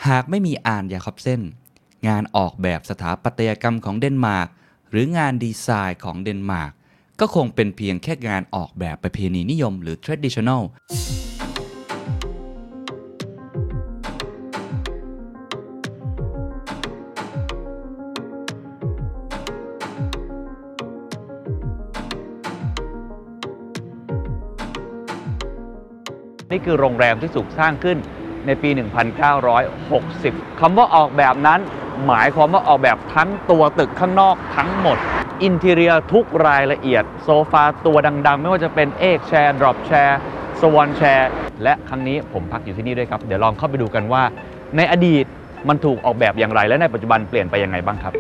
หากไม่มีอาร์น ยาคอบเซนงานออกแบบสถาปัตยกรรมของเดนมาร์กหรืองานดีไซน์ของเดนมาร์กก็คงเป็นเพียงแค่งานออกแบบประเพณีนิยมหรือ traditional นี่คือโรงแรมที่ถูกสร้างขึ้นในปี 1960 คำว่าออกแบบนั้นหมายความว่าออกแบบทั้งตัวตึกข้างนอกทั้งหมดอินทีเรียทุกรายละเอียดโซฟาตัวดังๆไม่ว่าจะเป็นเอกแชร์ดรอปแชร์สวอนแชร์และครั้งนี้ผมพักอยู่ที่นี่ด้วยครับเดี๋ยวลองเข้าไปดูกันว่าในอดีตมันถูกออกแบบอย่างไรและในปัจจุบันเปลี่ยนไปยังไงบ้างครับ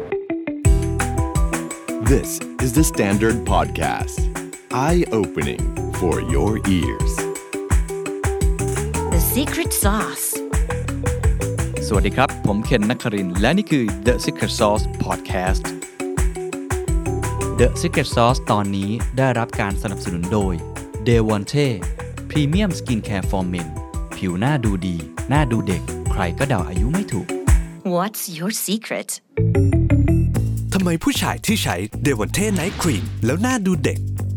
This is the Standard Podcast Eye-opening for your ears The Secret Sauce สวัสดีครับผมเคนนครินทร์และนี่คือ The Secret Sauce Podcast The Secret Sauce ตอนนี้ได้รับการสนับสนุนโดย Devonte Premium Skincare for Men ผิวหน้าดูดีหน้าดูเด็กใครก็เดาอายุไม่ถูก What's your secret ทำไมผู้ชายที่ใช้ Devonte Night Cream แล้วหน้าดูเด็ก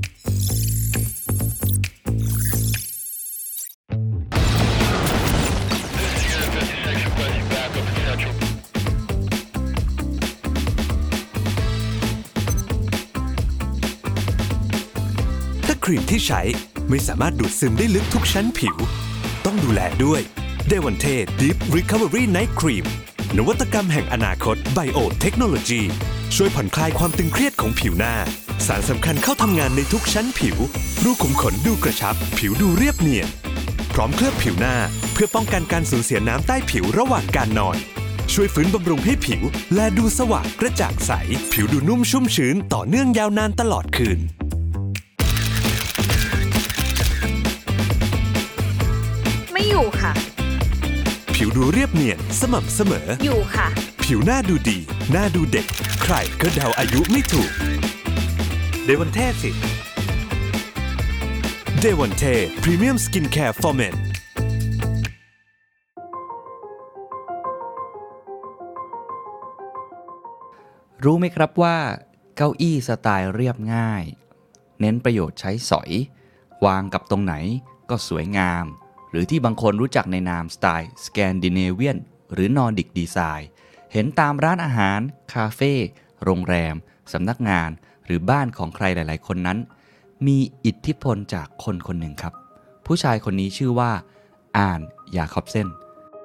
ครีมที่ใช้ไม่สามารถดูดซึมได้ลึกทุกชั้นผิวต้องดูแลด้วย Devonte Deep Recovery Night Cream นวัตกรรมแห่งอนาคต Bio Technology ช่วยผ่อนคลายความตึงเครียดของผิวหน้าสารสำคัญเข้าทำงานในทุกชั้นผิวรูขุมขนดูกระชับผิวดูเรียบเนียนพร้อมเคลือบผิวหน้าเพื่อป้องกันการสูญเสียน้ำใต้ผิวระหว่างการนอนช่วยฟื้นบำรุงให้ผิวและดูสว่างกระจ่างใสผิวดูนุ่มชุ่มชื้นต่อเนื่องยาวนานตลอดคืนอยู่ค่ะผิวดูเรียบเนียนสม่ำเสมออยู่ค่ะผิวหน้าดูดีหน้าดูเด็กใครก็เดาอายุไม่ถูกเดวอนเทสิเดวอนเทพรีเมียมสกินแคร์ for men รู้ไหมครับว่าเก้าอี้สไตล์เรียบง่ายเน้นประโยชน์ใช้สอยวางกับตรงไหนก็สวยงามหรือที่บางคนรู้จักในนามสไตล์สแกนดิเนเวียนหรือนอร์ดิกดีไซน์เห็นตามร้านอาหารคาเฟ่โรงแรมสำนักงานหรือบ้านของใครหลายๆคนนั้นมีอิทธิพลจากคนคนหนึ่งครับผู้ชายคนนี้ชื่อว่าอาร์น ยาคอบเซน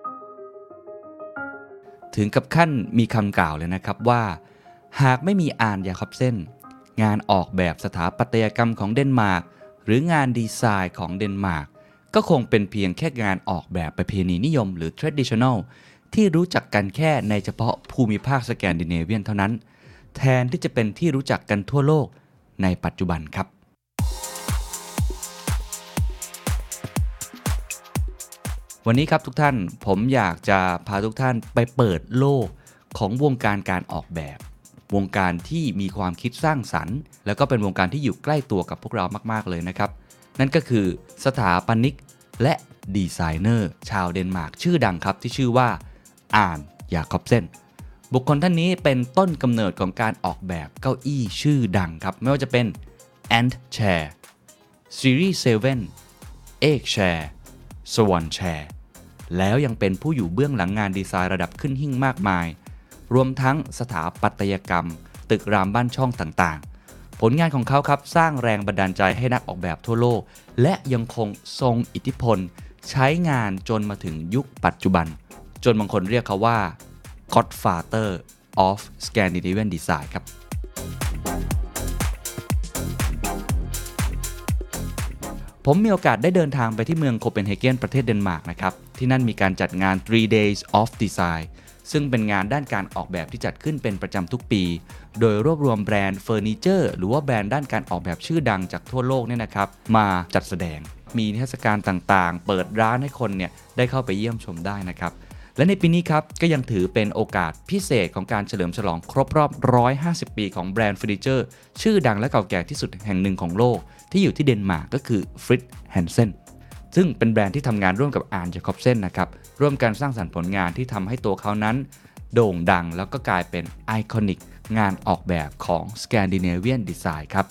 ถึงกับขั้นมีคำกล่าวเลยนะครับว่าหากไม่มีอาร์น ยาคอบเซนงานออกแบบสถาปัตยกรรมของเดนมาร์กหรืองานดีไซน์ของเดนมาร์กก็คงเป็นเพียงแค่งานออกแบบประเพณีนิยมหรือ traditional ที่รู้จักกันแค่ในเฉพาะภูมิภาคสแกนดิเนเวียนเท่านั้นแทนที่จะเป็นที่รู้จักกันทั่วโลกในปัจจุบันครับวันนี้ครับทุกท่านผมอยากจะพาทุกท่านไปเปิดโลกของวงการการออกแบบวงการที่มีความคิดสร้างสรรค์แล้วก็เป็นวงการที่อยู่ใกล้ตัวกับพวกเรามากๆเลยนะครับนั่นก็คือสถาปนิกและดีไซเนอร์ชาวเดนมาร์กชื่อดังครับที่ชื่อว่าอาร์น ยาคอบเซนบุคคลท่านนี้เป็นต้นกำเนิดของการออกแบบเก้าอี้ชื่อดังครับไม่ว่าจะเป็น Ant Chair Series 7 Egg Chair Swan Chair แล้วยังเป็นผู้อยู่เบื้องหลังงานดีไซน์ระดับขึ้นหิ้งมากมายรวมทั้งสถาปัตยกรรมตึกรามบ้านช่องต่างๆผลงานของเขาครับสร้างแรงบันดาลใจให้นักออกแบบทั่วโลกและยังคงทรงอิทธิพลใช้งานจนมาถึงยุคปัจจุบันจนบางคนเรียกเขาว่า Godfather of Scandinavian Design ครับผมมีโอกาสได้เดินทางไปที่เมืองโคเปนเฮเกนประเทศเดนมาร์กนะครับที่นั่นมีการจัดงาน 3 Days of Design ซึ่งเป็นงานด้านการออกแบบที่จัดขึ้นเป็นประจำทุกปีโดยรวบรวมแบรนด์เฟอร์นิเจอร์หรือว่าแบรนด์ด้านการออกแบบชื่อดังจากทั่วโลกเนี่ยนะครับมาจัดแสดงมีนิทรรศการต่างๆเปิดร้านให้คนเนี่ยได้เข้าไปเยี่ยมชมได้นะครับและในปีนี้ครับก็ยังถือเป็นโอกาสพิเศษของการเฉลิมฉลองครบรอบ150 ปีของแบรนด์เฟอร์นิเจอร์ชื่อดังและเก่าแก่ที่สุดแห่งหนึ่งของโลกที่อยู่ที่เดนมาร์กก็คือ Fritz Hansen ซึ่งเป็นแบรนด์ที่ทำงานร่วมกับอาร์น จาคอบเซนนะครับร่วมกันสร้างสรรค์ผลงานที่ทำให้ตัวเขานั้นโด่งดังแล้วก็กลายเป็นไอคอนิกงานออกแบบของ Scandinavian Design ครับ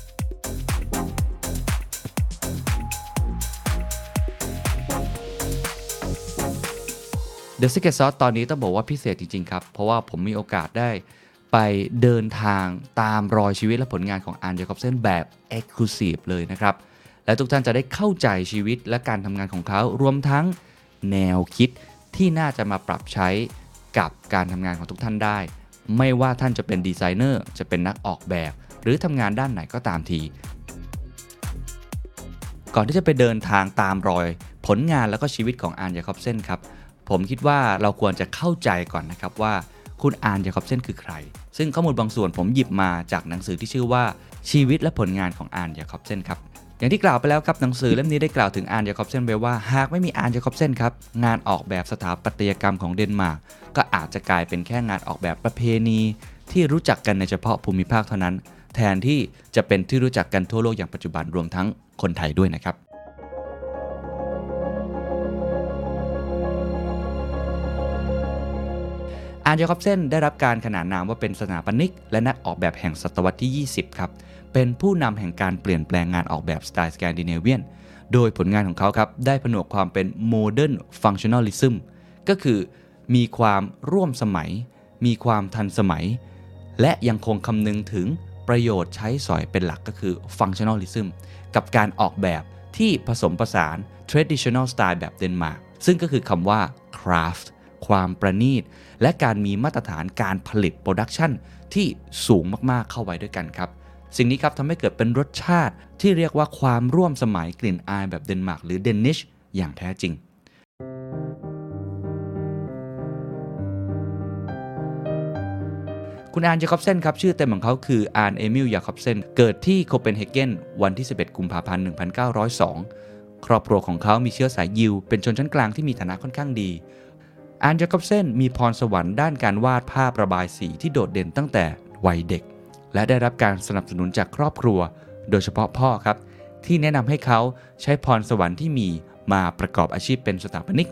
The Secret Sauce ตอนนี้ต้องบอกว่าพิเศษจริงๆครับเพราะว่าผมมีโอกาสได้ไปเดินทางตามรอยชีวิตและผลงานของอาร์น จาคอบเซนแบบ Exclusive เลยนะครับและทุกท่านจะได้เข้าใจชีวิตและการทำงานของเขารวมทั้งแนวคิดที่น่าจะมาปรับใช้กับการทำงานของทุกท่านได้ไม่ว่าท่านจะเป็นดีไซเนอร์จะเป็นนักออกแบบหรือทำงานด้านไหนก็ตามทีก่อนที่จะไปเดินทางตามรอยผลงานแล้วก็ชีวิตของอาร์น จาคอบเซนครับผมคิดว่าเราควรจะเข้าใจก่อนนะครับว่าคุณอาร์น จาคอบเซนคือใครซึ่งข้อมูลบางส่วนผมหยิบมาจากหนังสือที่ชื่อว่าชีวิตและผลงานของอาร์น จาคอบเซนครับอย่างที่กล่าวไปแล้วครับหนังสือเล่มนี้ได้กล่าวถึงอาร์น จาคอบเซนไว้ว่าหากไม่มีอาร์น จาคอบเซนครับงานออกแบบสถาปัตยกรรมของเดนมาร์กก็อาจจะกลายเป็นแค่งานออกแบบประเพณีที่รู้จักกันในเฉพาะภูมิภาคเท่านั้นแทนที่จะเป็นที่รู้จักกันทั่วโลกอย่างปัจจุบันรวมทั้งคนไทยด้วยนะครับอาร์น จาคอบเซนได้รับการขนานนามว่าเป็นสถาปนิกและนักออกแบบแห่งศตวรรษที่20ครับเป็นผู้นำแห่งการเปลี่ยนแปลงงานออกแบบสไตล์สแกนดิเนเวียนโดยผลงานของเขาครับได้ผนวกความเป็นโมเดิร์นฟังชั่นอลิซึมก็คือมีความร่วมสมัยมีความทันสมัยและยังคงคำนึงถึงประโยชน์ใช้สอยเป็นหลักก็คือฟังชั่นอลิซึมกับการออกแบบที่ผสมผสาน traditional style แบบเดนมาร์กซึ่งก็คือคำว่า craft ความประณีตและการมีมาตรฐานการผลิตโปรดักชันที่สูงมากๆเข้าไว้ด้วยกันครับสิ่งนี้ครับทำให้เกิดเป็นรสชาติที่เรียกว่าความร่วมสมัยกลิ่นอายแบบเดนมาร์กหรือเดนิชอย่างแท้จริงคุณอาร์น จาคอบเซนครับชื่อเต็มของเขาคืออาร์น เอมิล จาคอบเซนเกิดที่โคเปนเฮเกนวันที่11กุมภาพันธ์1902ครอบครัวของเขามีเชื้อสายยิวเป็นชนชั้นกลางที่มีฐานะค่อนข้างดีอาร์น จาคอบเซนมีพรสวรรค์ด้านการวาดภาพระบายสีที่โดดเด่นตั้งแต่วัยเด็กและได้รับการสนับสนุนจากครอบครัวโดยเฉพาะพ่อครับที่แนะนำให้เขาใช้พรสวรรค์ที่มีมาประกอบอาชีพเป็นสถาปนิก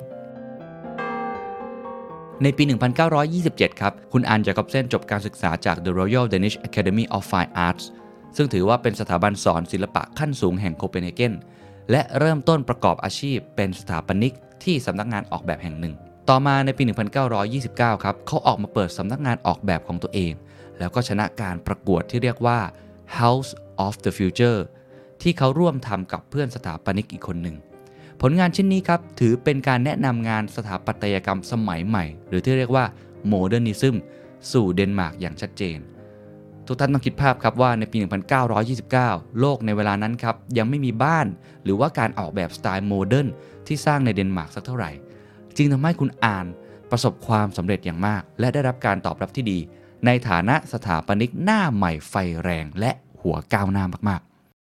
ในปี 1927 ครับคุณอาร์น จาคอบเซนจบการศึกษาจาก The Royal Danish Academy of Fine Arts ซึ่งถือว่าเป็นสถาบันสอนศิลปะขั้นสูงแห่งโคเปนเฮเกนและเริ่มต้นประกอบอาชีพเป็นสถาปนิกที่สำนักงานออกแบบแห่งหนึ่งต่อมาในปี 1929 ครับเขาออกมาเปิดสำนักงานออกแบบของตัวเองแล้วก็ชนะการประกวดที่เรียกว่า House of the Future ที่เขาร่วมทำกับเพื่อนสถาปนิกอีกคนหนึ่งผลงานชิ้นนี้ครับถือเป็นการแนะนำงานสถาปัตยกรรมสมัยใหม่หรือที่เรียกว่า Modernism สู่เดนมาร์กอย่างชัดเจนทุกท่านต้องคิดภาพครับว่าในปี 1929 โลกในเวลานั้นครับยังไม่มีบ้านหรือว่าการออกแบบสไตล์โมเดิร์นที่สร้างในเดนมาร์กสักเท่าไหร่จึงทำให้คุณอาร์นประสบความสำเร็จอย่างมากและได้รับการตอบรับที่ดีในฐานะสถาปนิกหน้าใหม่ไฟแรงและหัวก้าวหน้ามาก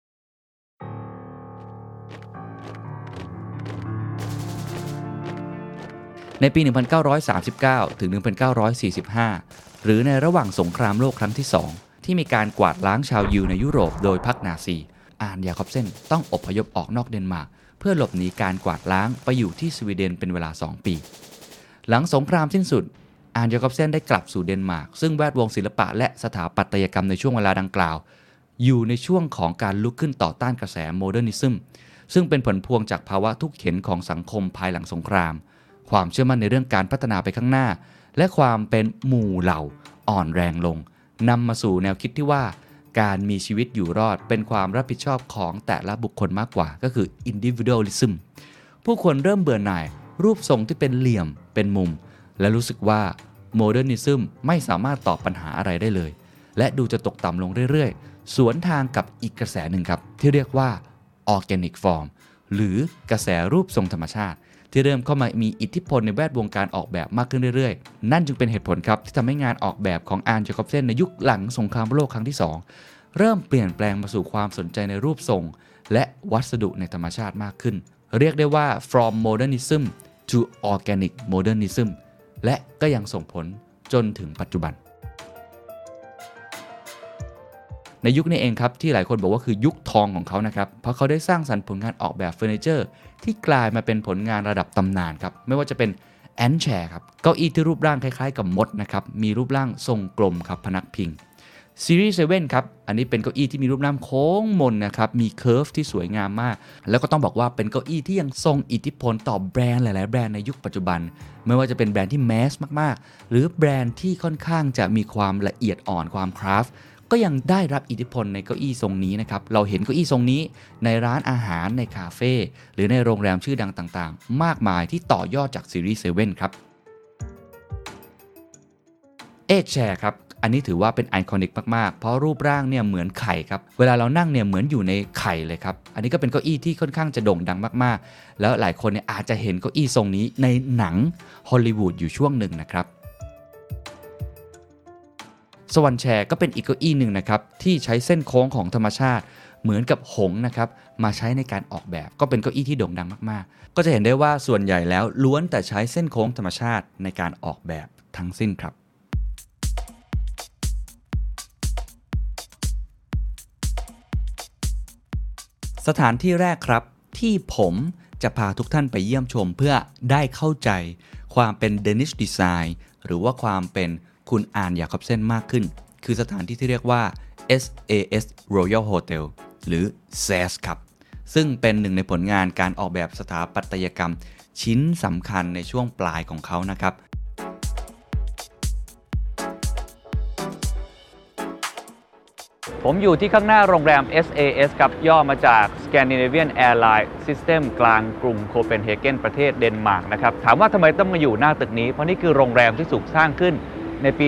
ๆในปี 1939 ถึง 1945 หรือในระหว่างสงครามโลกครั้งที่ 2 ที่มีการกวาดล้างชาวยิวในยุโรปโดยพรรคนาซีอาร์น จาคอบเซนต้องอพยพออกนอกเดนมาร์กเพื่อหลบหนีการกวาดล้างไปอยู่ที่สวีเดนเป็นเวลา 2 ปีหลังสงครามสิ้นสุดอาร์น จาคอบเซนได้กลับสู่เดนมาร์กซึ่งแวดวงศิลปะและสถาปัตยกรรมในช่วงเวลาดังกล่าวอยู่ในช่วงของการลุกขึ้นต่อต้านกระแสโมเดิร์นิซึมซึ่งเป็นผลพวงจากภาวะทุกข์เข็ญของสังคมภายหลังสงครามความเชื่อมั่นในเรื่องการพัฒนาไปข้างหน้าและความเป็นหมู่เหล่าอ่อนแรงลงนำมาสู่แนวคิดที่ว่าการมีชีวิตอยู่รอดเป็นความรับผิดชอบของแต่ละบุคคลมากกว่าก็คือ individualism ผู้คนเริ่มเบื่อหน่ายรูปทรงที่เป็นเหลี่ยมเป็นมุมและรู้สึกว่าโมเดิร์นิซึมไม่สามารถตอบปัญหาอะไรได้เลยและดูจะตกต่ำลงเรื่อยๆสวนทางกับอีกกระแสหนึ่งครับที่เรียกว่า organic form หรือกระแสรูปทรงธรรมชาติที่เริ่มเข้ามามีอิทธิพลในแวดวงการออกแบบมากขึ้นเรื่อยๆนั่นจึงเป็นเหตุผลครับที่ทำให้งานออกแบบของอาร์น จาคอบเซนในยุคหลังสงครามโลกครั้งที่ 2เริ่มเปลี่ยนแปลงมาสู่ความสนใจในรูปทรงและวัสดุในธรรมชาติมากขึ้นเรียกได้ว่า from modernism to organic modernism และก็ยังส่งผลจนถึงปัจจุบันในยุคนี้เองครับที่หลายคนบอกว่าคือยุคทองของเขานะครับเพราะเขาได้สร้างสรรค์ผลงานออกแบบเฟอร์นิเจอร์ที่กลายมาเป็นผลงานระดับตำนานครับไม่ว่าจะเป็นแอนแชร์ครับเก้าอี้ที่รูปร่างคล้ายๆกับมดนะครับมีรูปร่างทรงกลมครับพนักพิงซีรีส์7ครับอันนี้เป็นเก้าอี้ที่มีรูปร่างโค้งมนนะครับมีเคิร์ฟที่สวยงามมากแล้วก็ต้องบอกว่าเป็นเก้าอี้ที่ยังทรงอิทธิพลต่อแบรนด์หลายๆแบรนด์ในยุคปัจจุบันไม่ว่าจะเป็นแบรนด์ที่แมสมากๆหรือแบรนด์ที่ค่อนข้างจะมีความละเอียดอ่อนความคราฟต์ก็ยังได้รับอิทธิพลในเก้าอี้ทรงนี้นะครับเราเห็นเก้าอี้ทรงนี้ในร้านอาหารในคาเฟ่หรือในโรงแรมชื่อดังต่างๆมากมายที่ต่อยอดจากซีรีส์7ครับเอกแชร์ครับอันนี้ถือว่าเป็นไอคอนิกมากๆเพราะรูปร่างเนี่ยเหมือนไข่ครับเวลาเรานั่งเนี่ยเหมือนอยู่ในไข่เลยครับอันนี้ก็เป็นเก้าอี้ที่ค่อนข้างจะโด่งดังมากๆแล้วหลายคนเนี่ยอาจจะเห็นเก้าอี้ทรงนี้ในหนังฮอลลีวูดอยู่ช่วงหนึ่งนะครับสวรรค์แชร์ก็เป็นอีกเก้าอี้หนึ่งนะครับที่ใช้เส้นโค้งของธรรมชาติเหมือนกับหงส์นะครับมาใช้ในการออกแบบก็เป็นเก้าอี้ที่โด่งดังมากๆก็จะเห็นได้ว่าส่วนใหญ่แล้วล้วนแต่ใช้เส้นโค้งธรรมชาติในการออกแบบทั้งสิ้นครับสถานที่แรกครับที่ผมจะพาทุกท่านไปเยี่ยมชมเพื่อได้เข้าใจความเป็นเดนิชดีไซน์หรือว่าความเป็นคุณอานยาคอบเซ่นมากขึ้นคือสถานที่ที่เรียกว่า SAS Royal Hotel หรือ SAS ครับซึ่งเป็นหนึ่งในผลงานการออกแบบสถาปัตยกรรมชิ้นสำคัญในช่วงปลายของเขานะครับผมอยู่ที่ข้างหน้าโรงแรม SAS ครับย่อมาจาก Scandinavian Airline System กลางกรุงโคเปนเฮเกนประเทศเดนมาร์กนะครับถามว่าทำไมต้องมาอยู่หน้าตึกนี้เพราะนี่คือโรงแรมที่ถูกสร้างขึ้นในปี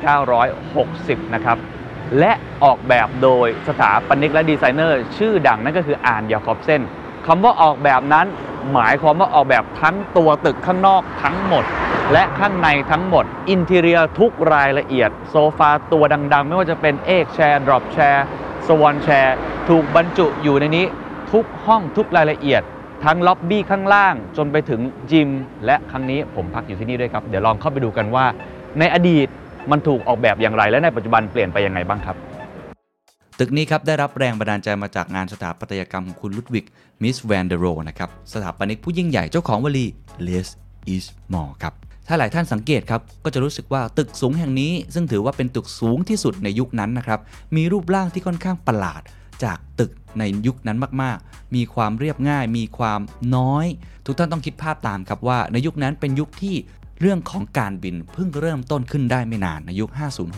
1960 นะครับและออกแบบโดยสถาปนิกและดีไซเนอร์ชื่อดังนั่นก็คืออานยาคอบเซ่นคำว่าออกแบบนั้นหมายความว่าออกแบบทั้งตัวตึกข้างนอกทั้งหมดและข้างในทั้งหมดอินทีเรียทุกรายละเอียดโซฟาตัวดังๆไม่ว่าจะเป็นเอกแชร์ดรอปแชร์สวอนแชร์ถูกบรรจุอยู่ในนี้ทุกห้องทุกรายละเอียดทั้งล็อบบี้ข้างล่างจนไปถึงจิมและครั้งนี้ผมพักอยู่ที่นี่ด้วยครับเดี๋ยวลองเข้าไปดูกันว่าในอดีตมันถูกออกแบบอย่างไรและในปัจจุบันเปลี่ยนไปยังไงบ้างครับตึกนี้ครับได้รับแรงบันดาลใจมาจากงานสถาปัตยกรรมของคุณลุดวิกมิสแวนเดโรนะครับสถาปนิกผู้ยิ่งใหญ่เจ้าของวลี less is more ครับถ้าหลายท่านสังเกตครับก็จะรู้สึกว่าตึกสูงแห่งนี้ซึ่งถือว่าเป็นตึกสูงที่สุดในยุคนั้นนะครับมีรูปร่างที่ค่อนข้างประหลาดจากตึกในยุคนั้นมากๆมีความเรียบง่ายมีความน้อยทุกท่านต้องคิดภาพตามครับว่าในยุคนั้นเป็นยุคที่เรื่องของการบินเพิ่งเริ่มต้นขึ้นได้ไม่นานในยุค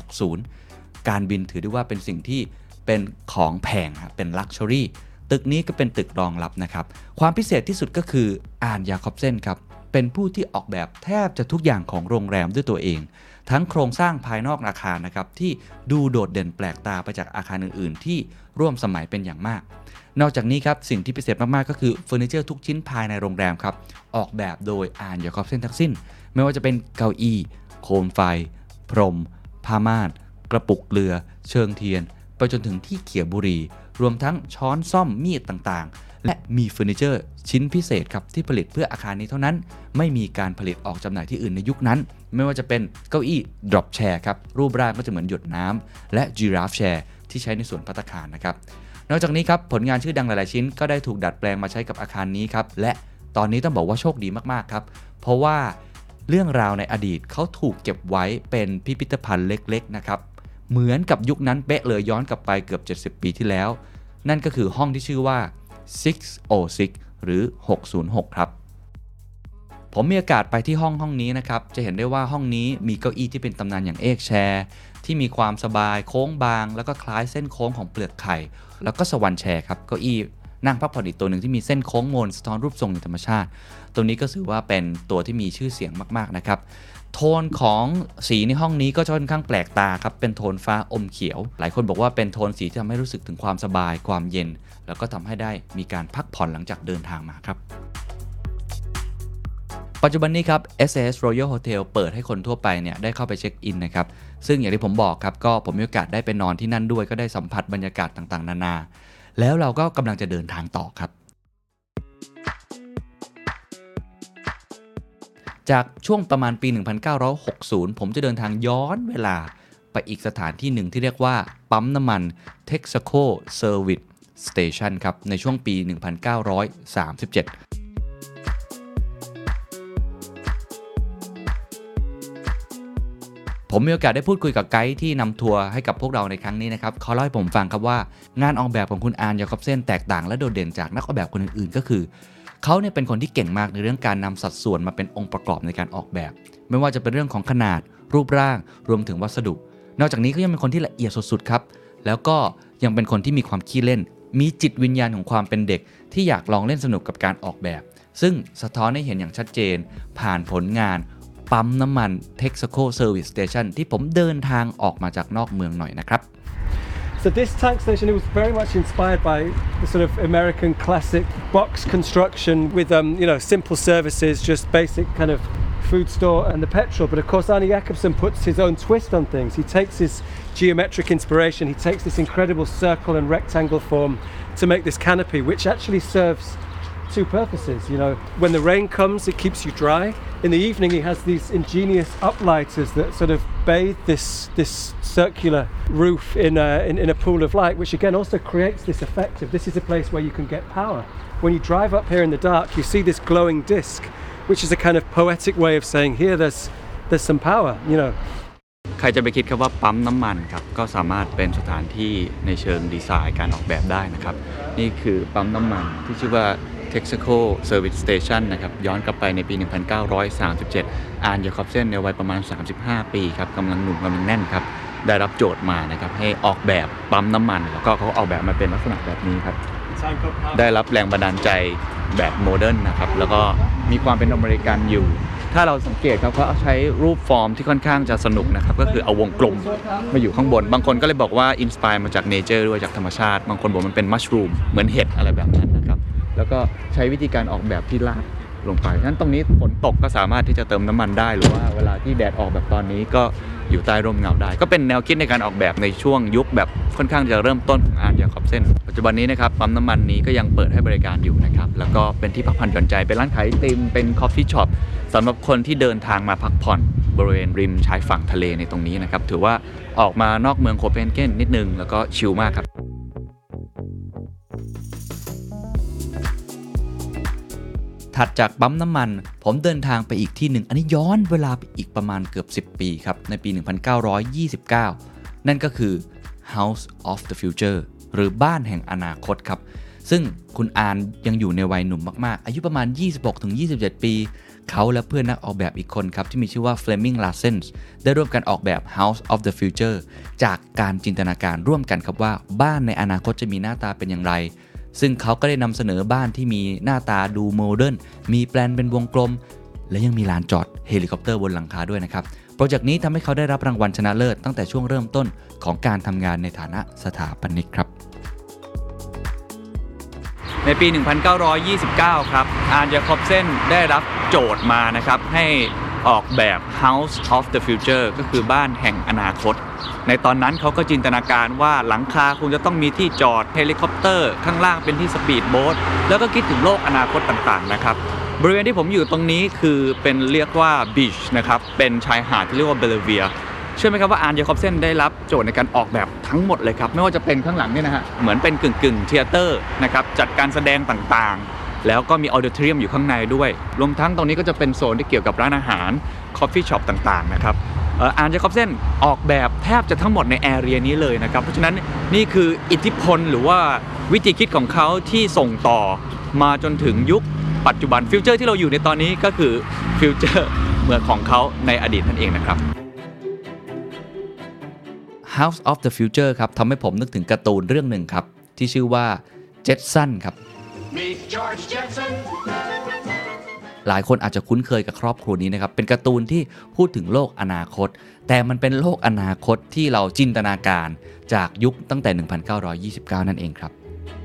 50-60 การบินถือได้ว่าเป็นสิ่งที่เป็นของแพงเป็นลักชัวรี่ตึกนี้ก็เป็นตึกรองรับนะครับความพิเศษที่สุดก็คืออานยาคอบเซ่นครับเป็นผู้ที่ออกแบบแทบจะทุกอย่างของโรงแรมด้วยตัวเองทั้งโครงสร้างภายนอกอาคารนะครับที่ดูโดดเด่นแปลกตาไปจากอาคารอื่นๆที่ร่วมสมัยเป็นอย่างมากนอกจากนี้ครับสิ่งที่พิเศษมากๆก็คือเฟอร์นิเจอร์ทุกชิ้นภายในโรงแรมครับออกแบบโดยอานยาคอบเซ่นทั้งสิ้นไม่ว่าจะเป็นเก้าอี้โคมไฟพรมผ้าม่านกระปุกเกลือเชิงเทียนไปจนถึงที่เขี่ยบุหรี่รวมทั้งช้อนซ่อมมีดต่างๆและมีเฟอร์นิเจอร์ชิ้นพิเศษครับที่ผลิตเพื่ออาคารนี้เท่านั้นไม่มีการผลิตออกจำหน่ายที่อื่นในยุคนั้นไม่ว่าจะเป็นเก้าอี้ drop chair ครับรูปร่างก็จะเหมือนหยดน้ำและ giraffe chair ที่ใช้ในส่วนภัตตาคารนะครับนอกจากนี้ครับผลงานชื่อดังหลายๆชิ้นก็ได้ถูกดัดแปลงมาใช้กับอาคารนี้ครับและตอนนี้ต้องบอกว่าโชคดีมากๆครับเพราะว่าเรื่องราวในอดีตเขาถูกเก็บไว้เป็นพิพิธภัณฑ์เล็กๆนะครับเหมือนกับยุคนั้นเป๊ะเลยย้อนกลับไปเกือบ70 ปีที่แล้วนั่นก็คือห้องที่ชื่อว่า 606 หรือ 606 ครับผมมีโอกาสไปที่ห้องนี้นะครับจะเห็นได้ว่าห้องนี้มีเก้าอี้ที่เป็นตำนานอย่างเอกแชร์ที่มีความสบายโค้งบางแล้วก็คล้ายเส้นโค้งของเปลือกไข่แล้วก็สวรรค์แชร์ครับเก้าอี้นั่งพักผ่อนอีกตัวหนึ่งที่มีเส้นโค้งมนสะท้อนรูปทรงในธรรมชาติตัวนี้ก็ถือว่าเป็นตัวที่มีชื่อเสียงมากๆนะครับโทนของสีในห้องนี้ก็ค่อนข้างแปลกตาครับเป็นโทนฟ้าอมเขียวหลายคนบอกว่าเป็นโทนสีที่ทำให้รู้สึกถึงความสบายความเย็นแล้วก็ทำให้ได้มีการพักผ่อนหลังจากเดินทางมาครับปัจจุบันนี้ครับ SAS Royal Hotel เปิดให้คนทั่วไปเนี่ยได้เข้าไปเช็คอินนะครับซึ่งอย่างที่ผมบอกครับก็ผมมีโอกาสได้ไปนอนที่นั่นด้วยก็ได้สัมผัสบรรยากาศต่างๆนานาแล้วเราก็กำลังจะเดินทางต่อครับจากช่วงประมาณปี 1960 ผมจะเดินทางย้อนเวลาไปอีกสถานที่หนึ่งที่เรียกว่าปั๊มน้ำมัน Texaco Service Station ครับในช่วงปี 1937ผมมีโอกาสได้พูดคุยกับไกด์ที่นำทัวร์ให้กับพวกเราในครั้งนี้นะครับเขาเล่าให้ผมฟังครับว่างานออกแบบของคุณอาร์น ยาคอบเซนแตกต่างและโดดเด่นจากนักออกแบบคนอื่นๆก็คือเขาเนี่ยเป็นคนที่เก่งมากในเรื่องการนำสัดส่วนมาเป็นองค์ประกอบในการออกแบบไม่ว่าจะเป็นเรื่องของขนาดรูปร่างรวมถึงวัสดุนอกจากนี้ก็ยังเป็นคนที่ละเอียดสุดๆครับแล้วก็ยังเป็นคนที่มีความขี้เล่นมีจิตวิญญาณของความเป็นเด็กที่อยากลองเล่นสนุกกับการออกแบบซึ่งสะท้อนให้เห็นอย่างชัดเจนผ่านผลงานปั๊มน้ำมัน Texaco Service Station ที่ผมเดินทางออกมาจากนอกเมืองหน่อยนะครับ So this tank station, it was very much inspired by the sort of American classic box construction with, simple services, just basic kind of food store and the petrol. But of course, Arne Jacobsen puts his own twist on things. He takes his geometric inspiration, he takes this incredible circle and rectangle form to make this canopy, which actually serves two purposes. When the rain comes, it keeps you dry. In the evening, he has these ingenious uplighters that sort of bathe this circular roof in a pool of light, which again also creates this effect of this is a place where you can get power. When you drive up here in the dark, you see this glowing disc, which is a kind of poetic way of saying here there's some power. ใครจะไปคิดครับว่าปั๊มน้ำมันครับก็สามารถเป็นสถานที่ในเชิงดีไซน์การออกแบบได้นะครับนี่คือปั๊มน้ำมันที่ชื่อว่า Texaco Service Station นะครับย้อนกลับไปในปี 1937 อาร์น ยาคอบเซนในวัยประมาณ 35 ปีครับกำลังหนุ่มกำลังแน่นครับได้รับโจทย์มานะครับให้ออกแบบปั๊มน้ำมันแล้วก็เขาออกแบบมาเป็นลักษณะแบบนี้ครับได้รับแรงบันดาลใจแบบโมเดิร์นนะครับแล้วก็มีความเป็นอเมริกันอยู่ถ้าเราสังเกตครับเขาใช้รูปฟอร์มที่ค่อนข้างจะสนุกนะครับก็คือเอาวงกลมมาอยู่ข้างบนบางคนก็เลยบอกว่าอินสไปร์มาจากเนเจอร์ด้วยจากธรรมชาติบางคนบอกมันเป็นมัชรูมเหมือนเห็ดอะไรแบบนั้นนะครับแล้วก็ใช้วิธีการออกแบบที่ลาดลงไปฉะนั้นตรงนี้ฝนตกก็สามารถที่จะเติมน้ำมันได้หรือว่าเวลาที่แดดออกแบบตอนนี้ก็อยู่ใต้ร่มเงาได้ก็เป็นแนวคิดในการออกแบบในช่วงยุคแบบค่อนข้างจะเริ่มต้นของอาร์น ยาคอบเซนปัจจุบันนี้นะครับปั๊มน้ำมันนี้ก็ยังเปิดให้บริการอยู่นะครับแล้วก็เป็นที่พักผ่อนหย่อนใจเป็นร้านขายไอติมเป็นคอฟฟี่ช็อปสำหรับคนที่เดินทางมาพักผ่อนบริเวณริมชายฝั่งทะเลในตรงนี้นะครับถือว่าออกมานอกเมืองโคเปนเฮเกนนิดนึงแล้วก็ชิลมากครับถัดจากปั๊มน้ำมันผมเดินทางไปอีกที่หนึ่งอันนี้ย้อนเวลาไปอีกประมาณเกือบ10 ปีครับในปี 1929 นั่นก็คือ House of the Future หรือบ้านแห่งอนาคตครับซึ่งคุณอาร์นยังอยู่ในวัยหนุ่มมากๆอายุประมาณ 26-27 ปีเขาและเพื่อนนักออกแบบอีกคนครับที่มีชื่อว่า Fleming Larsen ได้ร่วมกันออกแบบ House of the Future จากการจินตนาการร่วมกันครับว่าบ้านในอนาคตจะมีหน้าตาเป็นอย่างไรซึ่งเขาก็ได้นำเสนอบ้านที่มีหน้าตาดูโมเดิร์นมีแปลนเป็นวงกลมและยังมีลานจอดเฮลิคอปเตอร์บนหลังคาด้วยนะครับโปรเจกต์นี้ทำให้เขาได้รับรางวัลชนะเลิศตั้งแต่ช่วงเริ่มต้นของการทำงานในฐานะสถาปนิกครับในปี 1929 ครับอาร์น ยาคอบเซนได้รับโจทย์มานะครับให้ออกแบบ House of the Future ก็คือบ้านแห่งอนาคตในตอนนั้นเขาก็จินตนาการว่าหลังคาคงจะต้องมีที่จอดเฮลิคอปเตอร์ข้างล่างเป็นที่สปีดโบ๊ทแล้วก็คิดถึงโลกอนาคตต่างๆนะครับบริเวณที่ผมอยู่ตรงนี้คือเป็นเรียกว่าบีชนะครับเป็นชายหาดที่เรียกว่าเบลเวียเชื่อไหมครับว่าอาร์น ยาคอบเซนได้รับโจทย์ในการออกแบบทั้งหมดเลยครับไม่ว่าจะเป็นข้างหลังนี่นะฮะเหมือนเป็นกึ่งเทเตอร์นะครับจัดการแสดงต่างๆแล้วก็มีออดิทอเรียมอยู่ข้างในด้วยรวมทั้งตรงนี้ก็จะเป็นโซนที่เกี่ยวกับร้านอาหารคอฟฟี่ช็อปต่างๆนะครับอาร์น ยาคอบเซนออกแบบแทบจะทั้งหมดในแอเรียนี้เลยนะครับเพราะฉะนั้นนี่คืออิทธิพลหรือว่าวิธีคิดของเขาที่ส่งต่อมาจนถึงยุคปัจจุบันฟิวเจอร์ที่เราอยู่ในตอนนี้ก็คือฟิวเจอร์เมืองของเขาในอดีตนั่นเองนะครับ House of the Future ครับทำให้ผมนึกถึงการ์ตูนเรื่องหนึ่งครับที่ชื่อว่า Jetson ครับหลายคนอาจจะคุ้นเคยกับครอบครัวนี้นะครับเป็นการ์ตูนที่พูดถึงโลกอนาคตแต่มันเป็นโลกอนาคตที่เราจินตนาการจากยุคตั้งแต่ 1929 นั่นเองครับ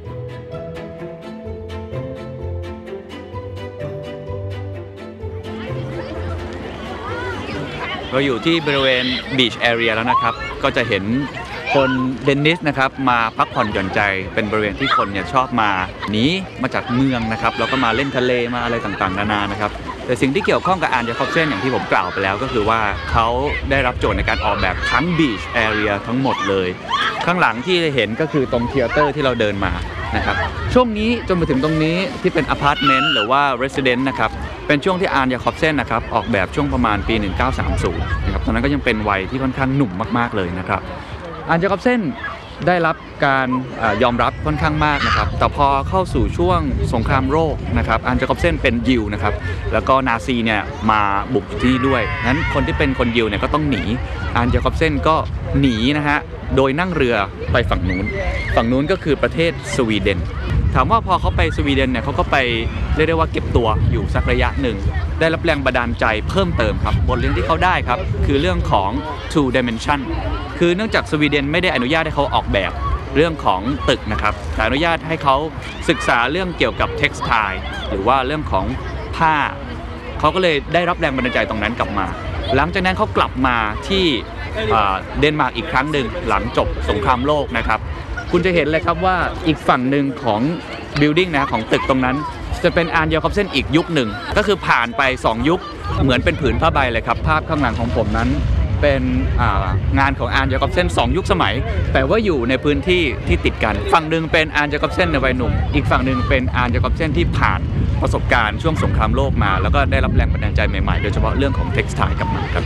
เราอยู่ที่บริเวณบีชแอเรียแล้วนะครับก็จะเห็นคนเดนนิสนะครับมาพักผ่อนหย่อนใจเป็นบริเวณที่คนเนี่ยชอบมาหนีมาจากเมืองนะครับแล้วก็มาเล่นทะเลมาอะไรต่างๆนานานะครับแต่สิ่งที่เกี่ยวข้องกับอาร์น ญาคอบเซนอย่างที่ผมกล่าวไปแล้วก็คือว่าเขาได้รับโจทย์ในการออกแบบทั้ง Beach Area ทั้งหมดเลยข้างหลังที่เห็นก็คือตรงเธียเตอร์ที่เราเดินมานะครับช่วงนี้จนมาถึงตรงนี้ที่เป็นอพาร์ตเมนต์หรือว่าเรสซิเดนต์นะครับเป็นช่วงที่อาร์น ญาคอบเซนนะครับออกแบบช่วงประมาณปี 1930 นะครับตอนนั้นก็ยังเป็นวัยที่ค่อนข้างหนุ่มมากๆเลยนะครับอาร์น ญาคอบเซนได้รับการยอมรับค่อนข้างมากนะครับแต่พอเข้าสู่ช่วงสงครามโลกนะครับอาร์น ญาคอบเซนเป็นยิวนะครับแล้วก็นาซีเนี่ยมาบุกที่ด้วยงั้นคนที่เป็นคนยิวเนี่ยก็ต้องหนีอาร์น ญาคอบเซนก็หนีนะฮะโดยนั่งเรือไปฝั่งนู้นก็คือประเทศสวีเดนถามว่าพอเขาไปสวีเดนเนี่ยเขาก็ไปเรียกได้ว่าเก็บตัวอยู่สักระยะหนึ่งได้รับแรงบันดาลใจเพิ่มเติมครับบทเรียนที่เขาได้ครับคือเรื่องของ two dimension คือเนื่องจากสวีเดนไม่ได้อนุญาตให้เขาออกแบบเรื่องของตึกนะครับแต่อนุญาตให้เขาศึกษาเรื่องเกี่ยวกับ textile หรือว่าเรื่องของผ้าเขาก็เลยได้รับแรงบันดาลใจตรงนั้นกลับมาหลังจากนั้นเขากลับมาที่เดนมาร์กอีกครั้งหนึ่งหลังจบสงครามโลกนะครับคุณจะเห็นเลยครับว่าอีกฝั่งหนึ่งของ building นะของตึกตรงนั้นจะเป็นอาร์น ญาคอบเซนอีกยุคหนึ่งก็คือผ่านไป2ยุคเหมือนเป็นผืนผ้าใบเลยครับภาพข้างหลังของผมนั้นเป็นงานของอาร์น ญาคอบเซน2ยุคสมัยแต่ว่าอยู่ในพื้นที่ที่ติดกันฝั่งหนึ่งเป็นอาร์น ญาคอบเซนในวัยหนุ่มอีกฝั่งหนึ่งเป็นอาร์น ญาคอบเซนที่ผ่านประสบการณ์ช่วงสงครามโลกมาแล้วก็ได้รับแรงบันดาลใจใหม่ๆโดยเฉพาะเรื่องของ textile กลับมาครับ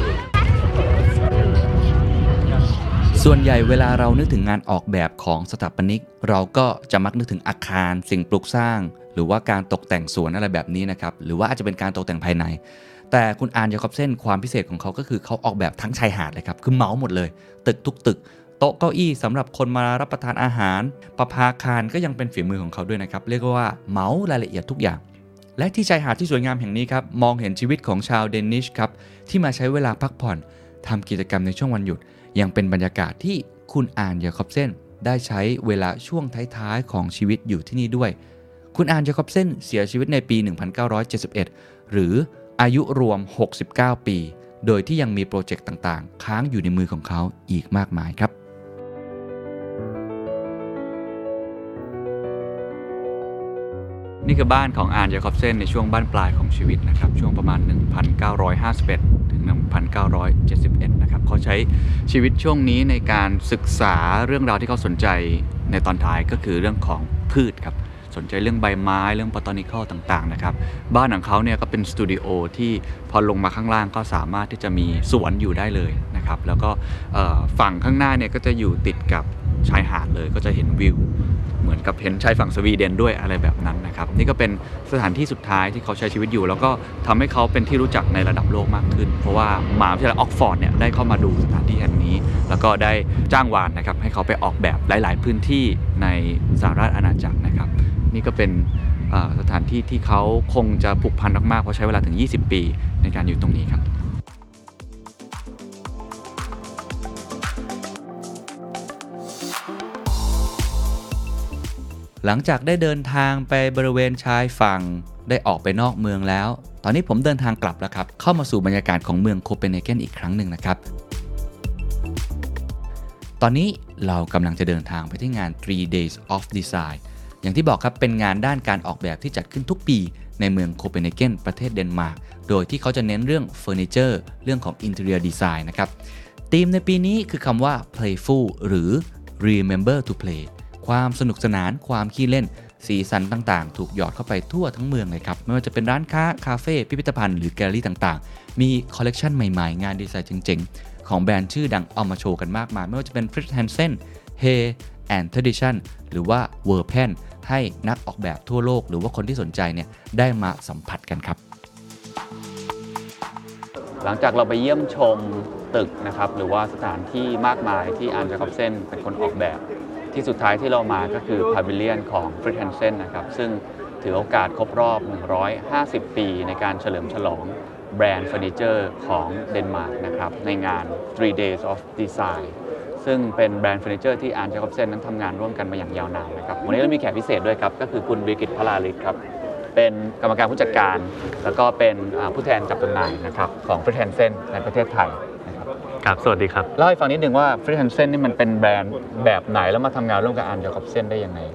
ส่วนใหญ่เวลาเรานึกถึงงานออกแบบของสถาปนิกเราก็จะมักนึกถึงอาคารสิ่งปลูกสร้างหรือว่าการตกแต่งสวนอะไรแบบนี้นะครับหรือว่าอาจจะเป็นการตกแต่งภายในแต่คุณอาร์น ญาคอบเซนความพิเศษของเขาก็คือเขาออกแบบทั้งชายหาดเลยครับคือเหมาหมดเลยตึกทุกตึกโต๊ะเก้าอี้สำหรับคนมารับประทานอาหารประภาคารก็ยังเป็นฝีมือของเขาด้วยนะครับเรียกว่าเหมารายละเอียดทุกอย่างและที่ชายหาดที่สวยงามแห่งนี้ครับมองเห็นชีวิตของชาวเดนิชครับที่มาใช้เวลาพักผ่อนทำกิจกรรมในช่วงวันหยุดยังเป็นบรรยากาศที่คุณอาร์น ญาคอบเซนได้ใช้เวลาช่วงท้ายๆของชีวิตอยู่ที่นี่ด้วยคุณอาร์น ญาคอบเซนเสียชีวิตในปี 1971 หรืออายุรวม69 ปีโดยที่ยังมีโปรเจกต์ต่างๆค้างอยู่ในมือของเขาอีกมากมายครับนี่คือบ้านของอาร์น ญาคอบเซนในช่วงบ้านปลายของชีวิตนะครับช่วงประมาณ 1951 ถึง 1971 นะครับเขาใช้ชีวิตช่วงนี้ในการศึกษาเรื่องราวที่เขาสนใจในตอนท้ายก็คือเรื่องของพืชครับสนใจเรื่องใบไม้เรื่อง botanical ต่างๆนะครับบ้านของเขาเนี่ยก็เป็นสตูดิโอที่พอลงมาข้างล่างก็สามารถที่จะมีสวนอยู่ได้เลยนะครับแล้วก็ฝั่งข้างหน้าเนี่ยก็จะอยู่ติดกับชายหาดเลยก็จะเห็นวิวเหมือนกับเห็นชายฝั่งสวีเดนด้วยอะไรแบบนั้นนะครับนี่ก็เป็นสถานที่สุดท้ายที่เขาใช้ชีวิตอยู่แล้วก็ทำให้เขาเป็นที่รู้จักในระดับโลกมากขึ้นเพราะว่ามหาวิทยาลัยออกฟอร์ดเนี่ยได้เข้ามาดูสถานที่แห่งนี้แล้วก็ได้จ้างวานนะครับให้เขาไปออกแบบหลายๆพื้นที่ในสหราชอาณาจักรนะครับนี่ก็เป็นสถานที่ที่เขาคงจะผูกพันมากๆเพราะใช้เวลาถึง20 ปีในการอยู่ตรงนี้ครับหลังจากได้เดินทางไปบริเวณชายฝั่งได้ออกไปนอกเมืองแล้วตอนนี้ผมเดินทางกลับแล้วครับเข้ามาสู่บรรยากาศของเมืองโคเปนเฮเกนอีกครั้งหนึ่งนะครับตอนนี้เรากำลังจะเดินทางไปที่งาน 3 Days of Design อย่างที่บอกครับเป็นงานด้านการออกแบบที่จัดขึ้นทุกปีในเมืองโคเปนเฮเกนประเทศเดนมาร์กโดยที่เขาจะเน้นเรื่องเฟอร์นิเจอร์เรื่องของ Interior Design นะครับธีมในปีนี้คือคำว่า Playful หรือ Remember to Playความสนุกสนานความขี้เล่นสีสันต่างๆถูกหยอดเข้าไปทั่วทั้งเมืองเลยครับไม่ว่าจะเป็นร้านค้าคาเฟ่พิพิธภัณฑ์หรือแกลเลอรี่ต่างๆมีคอลเลกชันใหม่ๆงานดีไซน์เจ๋งๆของแบรนด์ชื่อดังเอามาโชว์กันมากมายไม่ว่าจะเป็น Fritz Hansen Hay and Tradition หรือว่า Verpen ให้นักออกแบบทั่วโลกหรือว่าคนที่สนใจเนี่ยได้มาสัมผัสกันครับหลังจากเราไปเยี่ยมชมตึกนะครับหรือว่าสถานที่มากมายที่อาร์น ญาคอบเซนเป็นคนออกแบบที่สุดท้ายที่เรามาก็คือพาวิเลียนของ Fritz Hansen นะครับซึ่งถือโอกาสครบรอบ150 ปีในการเฉลิมฉลองแบรนด์เฟอร์นิเจอร์ของเดนมาร์กนะครับในงาน 3 Days of Design ซึ่งเป็นแบรนด์เฟอร์นิเจอร์ที่อาร์น ญาคอบเซนนั้นทำงานร่วมกันมาอย่างยาวนานนะครับวันนี้เรามีแขกพิเศษด้วยครับก็คือคุณวิกิต พลาลิศครับเป็นกรรมการผู้จัดการแล้วก็เป็นผู้แทนจัดจำหน่ายนะครับของ Fritz Hansen ในประเทศไทยครับสวัสดีครับเล่าให้ฟังนิดนึงว่า Fritz Hansen นี่มันเป็นแบรนด์แบบไหนแล้วมาทำงานร่วมกับอาร์น ญาคอบเซนได้ยังไง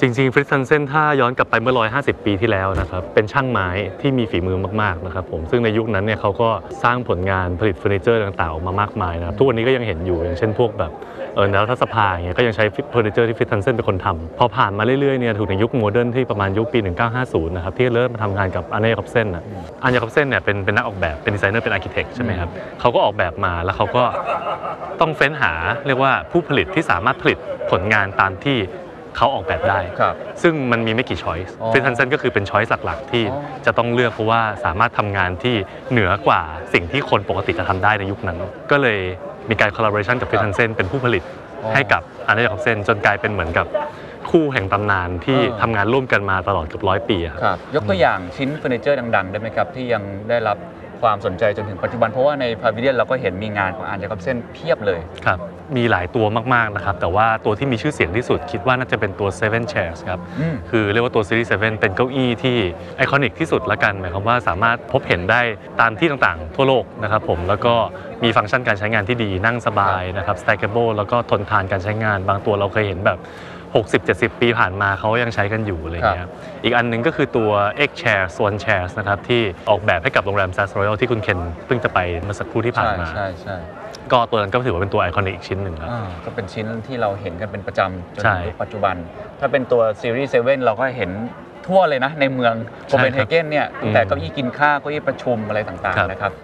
จริงๆฟริตซ์ฮันเซนถ้าย้อนกลับไปเมื่อ150ปีที่แล้วนะครับเป็นช่างไม้ที่มีฝีมือมากๆนะครับผมซึ่งในยุคนั้นเนี่ยเขาก็สร้างผลงานผลิตเฟอร์นิเจอร์ต่างๆออกมามากมายนะครับทุกวันนี้ก็ยังเห็นอยู่อย่างเช่นพวกแบบแนวทัศภาอย่างเงี้ยก็ยังใช้เฟอร์นิเจอร์ที่ฟริตซ์ฮันเซนเป็นคนทำพอผ่านมาเรื่อยๆเนี่ยถูกในยุคโมเดิร์นที่ประมาณยุคปี1950นะครับที่เริ่มมาทำงานกับอันเน ยาคอบเซนอันเน ยาคอบเซนเนี่ยเป็นนักออกแบบเป็นดีไซเนอร์เป็นอาร์คิเทคใช่ไหมครับเขาก็ออกแบบมาแล้วเขาก็ต้องเฟ้นหาเรียกว่าผู้ผลิตที่สามารถผลิตผลงานตามที่เขาออกแบบได้ซึ่งมันมีไม่กี่ช้อยส์ฟริตซ์ฮันเซนก็คือเป็นช้อยส์หลักๆที่จะต้องเลือกเพราะว่าสามารถทำงานที่เหนือกว่าสิ่งที่คนปกติจะทำได้ในยุคนั้นก็เลยมีการคอลลาบอเรชันกับฟริตซ์ฮันเซนเป็นผู้ผลิตให้กับอันเน ยาคอบเซนจนกลายเป็นเหมือนกับคู่แห่งตำนานที่ทำงานร่วมกันมาตลอดเกือบ100 ปีครับยกตัวอย่างชิ้นเฟอร์นิเจอร์ดังๆได้ไหมครับที่ยังได้รับความสนใจจนถึงปัจจุบันเพราะว่าในพาวิเลียนเราก็เห็นมีงานของอันเน ยาคอบเซนเพียบเลยครับมีหลายตัวมากๆนะครับแต่ว่าตัวที่มีชื่อเสียงที่สุดคิดว่าน่าจะเป็นตัว7 chairs ครับคือเรียกว่าตัวซีรีส์7เป็นเก้าอี้ที่ไอคอนิกที่สุดละกันหมายความว่าสามารถพบเห็นได้ตามที่ต่างๆทั่วโลกนะครับผมแล้วก็มีฟังก์ชันการใช้งานที่ดีนั่งสบายนะครับ stackable แล้วก็ทนทานการใช้งานบางตัวเราเคยเห็นแบบ60-70 ปีผ่านมาเขายังใช้กันอยู่อะไรเงี้ยอีกอันนึงก็คือตัว X Chair Swan Chairs นะครับที่ออกแบบให้กับโรงแรม Sass Royal ที่คุณเคนเพิ่งจะไปเมื่อสักครู่ที่ผ่านมาใช่ก็ตัวนั้นก็ถือว่าเป็นตัวไอคอนิกอีกชิ้นหนึ่งครับก็เป็นชิ้นที่เราเห็นกันเป็นประจำจนถึงปัจจุบันถ้าเป็นตัวซีรีส์7เราก็เห็นทั่วเลยนะในเมืองโคเปนเฮเกนเนี่ยแต่เก้าอี้กินข้าวเก้าอี้ประชุมอะไรต่างๆนะครับ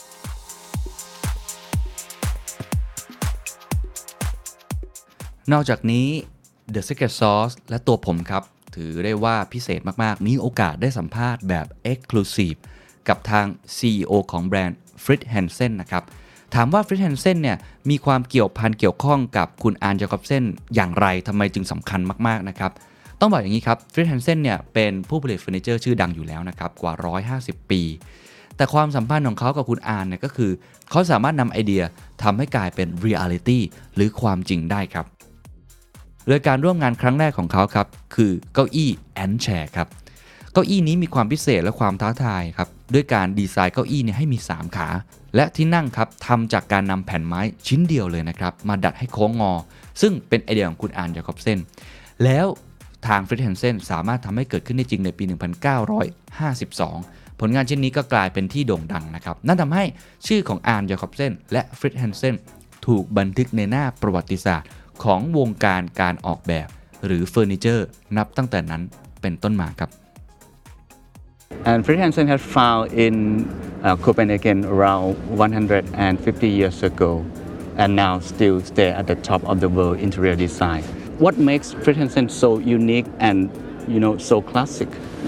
นอกจากนี้The Secret Sauce และตัวผมครับถือได้ว่าพิเศษมากๆมีโอกาสได้สัมภาษณ์แบบ Exclusive กับทาง CEO ของแบรนด์ Fritz Hansen นะครับถามว่า Fritz Hansen เนี่ยมีความเกี่ยวข้องกับคุณอัน ยาคอบเซนอย่างไรทำไมจึงสำคัญมากๆนะครับต้องบอกอย่างนี้ครับ Fritz Hansen เนี่ยเป็นผู้ผลิตเฟอร์นิเจอร์ชื่อดังอยู่แล้วนะครับกว่า150 ปีแต่ความสัมพันธ์ของเขากับคุณอันเนี่ยก็คือเขาสามารถนำไอเดียทำให้กลายเป็น reality หรือความจริงได้ครับโดยการร่วมงานครั้งแรกของเขาครับคือเก้าอี้ Ant Chair ครับเก้าอี้นี้มีความพิเศษและความท้าทายครับด้วยการดีไซน์เก้าอี้ให้มี3ขาและที่นั่งครับทำจากการนำแผ่นไม้ชิ้นเดียวเลยนะครับมาดัดให้โค้งงอซึ่งเป็นไอเดียของคุณอัน ยาคอบเซนแล้วทาง Fritz Hansen สามารถทำให้เกิดขึ้นได้จริงในปี 1952 ผลงานชิ้นนี้ก็กลายเป็นที่โด่งดังนะครับนั่นทำให้ชื่อของอัน ยาคอบเซนและ Fritz Hansen ถูกบันทึกในหน้าประวัติศาสตร์ของวงการการออกแบบหรือเฟอร์นิเจอร์นับตั้งแต่นั้นเป็นต้นมาครับ And Fritz Hansen has found in Copenhagen around 150 years ago and now still stay at the top of the world interior design. What makes Fritz Hansen so unique and so classic?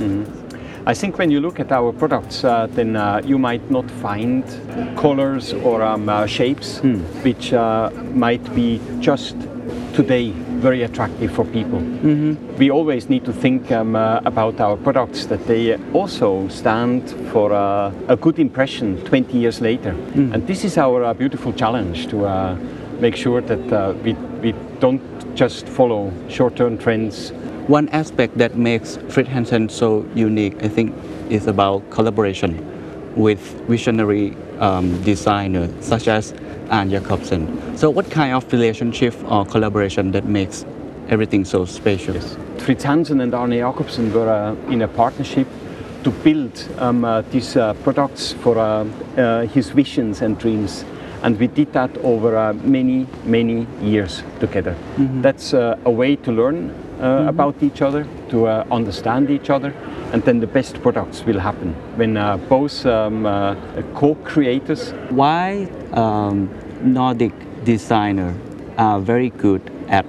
I think when you look at our products, then you might not find colors or shapes which might be just today very attractive for people. We always need to think about our products that they also stand for a good impression 20 years later. And this is our beautiful challenge to make sure that we don't just follow short-term trends. One aspect that makes Fritz Hansen so unique, I think, is about collaboration with visionary designers such as Anne Jacobsen. So what kind of relationship or collaboration that makes everything so special? Yes. Fritz Hansen and Arne Jacobsen were in a partnership to build these products for his visions and dreams. And we did that over many, many years together. That's a way to learn about each other, to understand each other, and then the best products will happen when both co-creators. Why Nordic designers are very good at,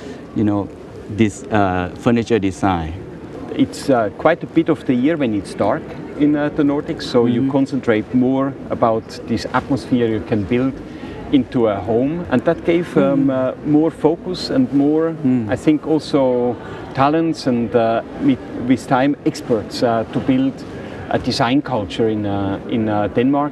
this furniture design? It's quite a bit of the year when it's dark in the Nordics, so you concentrate more about this atmosphere you can build into a home, and that gave more focus and more, I think, also talents and with time experts to build a design culture in Denmark.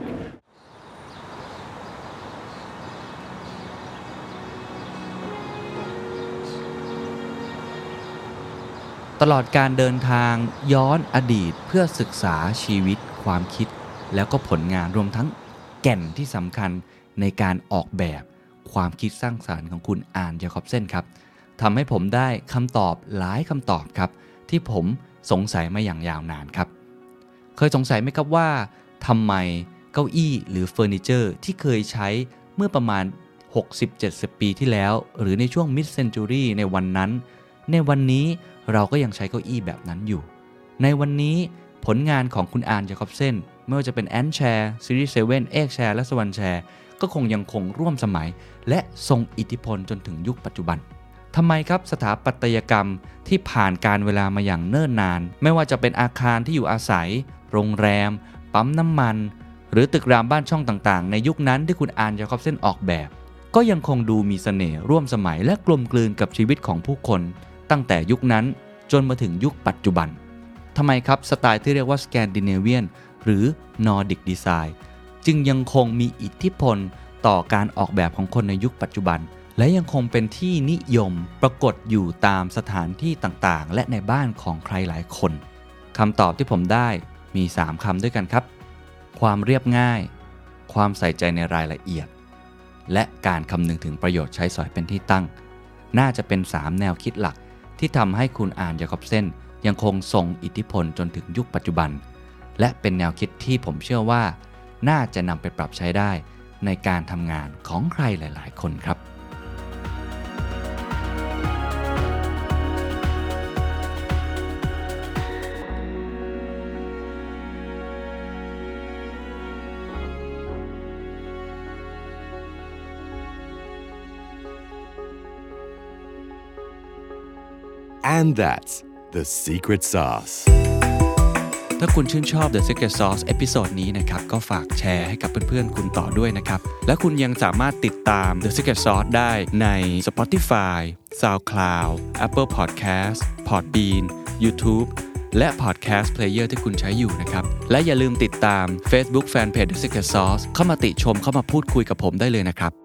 ตลอดการเดินทางย้อนอดีตเพื่อศึกษาชีวิตความคิดแล้วก็ผลงานรวมทั้งแก่นที่สำคัญในการออกแบบความคิดสร้างสรรค์ของคุณอัน ยาคอบเซนครับทำให้ผมได้คำตอบหลายคำตอบครับที่ผมสงสัยมาอย่างยาวนานครับเคยสงสัยไหมครับว่าทำไมเก้าอี้หรือเฟอร์นิเจอร์ที่เคยใช้เมื่อประมาณ 60-70 ปีที่แล้วหรือในช่วง Mid Century ในวันนั้นในวันนี้เราก็ยังใช้เก้าอี้แบบนั้นอยู่ในวันนี้ผลงานของคุณอาร์น จาคอบเซนไม่ว่าจะเป็น Ant Chair Series 7 Egg Chair และ Swan Chair ก็คงยังคงร่วมสมัยและทรงอิทธิพลจนถึงยุคปัจจุบันทำไมครับสถาปัตยกรรมที่ผ่านการเวลามาอย่างเนิ่นนานไม่ว่าจะเป็นอาคารที่อยู่อาศัยโรงแรมปั๊มน้ำมันหรือตึกรามบ้านช่องต่างๆในยุคนั้นที่คุณอาร์น จาคอบเซนออกแบบก็ยังคงดูมีเสน่ห์ร่วมสมัยและกลมกลืนกับชีวิตของผู้คนตั้งแต่ยุคนั้นจนมาถึงยุคปัจจุบันทำไมครับสไตล์ที่เรียกว่าสแกนดิเนเวียนหรือนอร์ดิกดีไซน์จึงยังคงมีอิทธิพลต่อการออกแบบของคนในยุคปัจจุบันและยังคงเป็นที่นิยมปรากฏอยู่ตามสถานที่ต่างๆและในบ้านของใครหลายคนคำตอบที่ผมได้มี3คำด้วยกันครับความเรียบง่ายความใส่ใจในรายละเอียดและการคำนึงถึงประโยชน์ใช้สอยเป็นที่ตั้งน่าจะเป็น3แนวคิดหลักที่ทำให้คุณอาร์น จาคอบเซนยังคงทรงอิทธิพลจนถึงยุคปัจจุบันและเป็นแนวคิดที่ผมเชื่อว่าน่าจะนำไปปรับใช้ได้ในการทำงานของใครหลายๆคนครับ And that's the secret sauce. ถ้าคุณชื่นชอบ The Secret Sauce เอพิโซดนี้นะครับก็ฝากแชร์ให้กับเพื่อนๆคุณต่อด้วยนะครับและคุณยังสามารถติดตาม The Secret Sauce ได้ใน Spotify, SoundCloud, Apple Podcast, Podbean, YouTube และ Podcast Player ที่คุณใช้อยู่นะครับและอย่าลืมติดตาม Facebook Fanpage The Secret Sauce เข้ามาติชมเข้ามาพูดคุยกับผมได้เลยนะครับ